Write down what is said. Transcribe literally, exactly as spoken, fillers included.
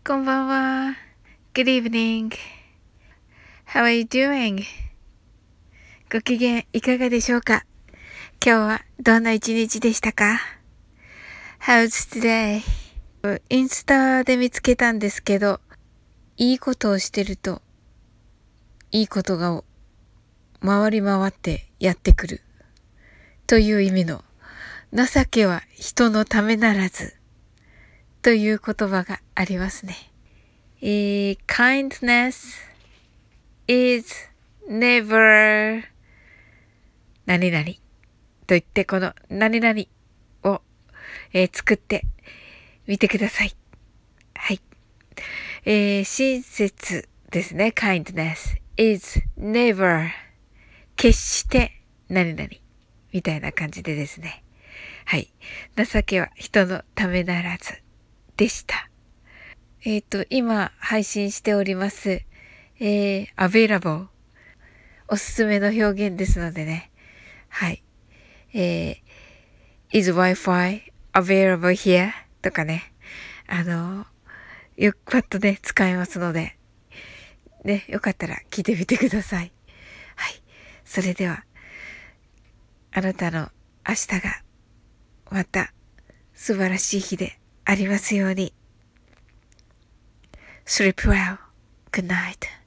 こんばんは。Good evening. How are you doing? ご機嫌いかがでしょうか？今日はどんな一日でしたか？ How's today? インスタで見つけたんですけど、いいことをしてると、いいことが回り回ってやってくる。という意味の、情けは人のためならず。という言葉がありますね。えー、kindness is never 何々と言ってこの何々を、えー、作ってみてください。はい。えー、親切ですね。kindness is never 決して何々みたいな感じでですね。はい。情けは人のためならずでした。えっと、今配信しております。えー、available おすすめの表現ですのでね。はい。えー、is Wi-Fi available here? とかね。あの、よくパッとね、使えますので。ね、よかったら聞いてみてください。はい。それでは、あなたの明日がまた素晴らしい日でありますように。Sleep well. Good night.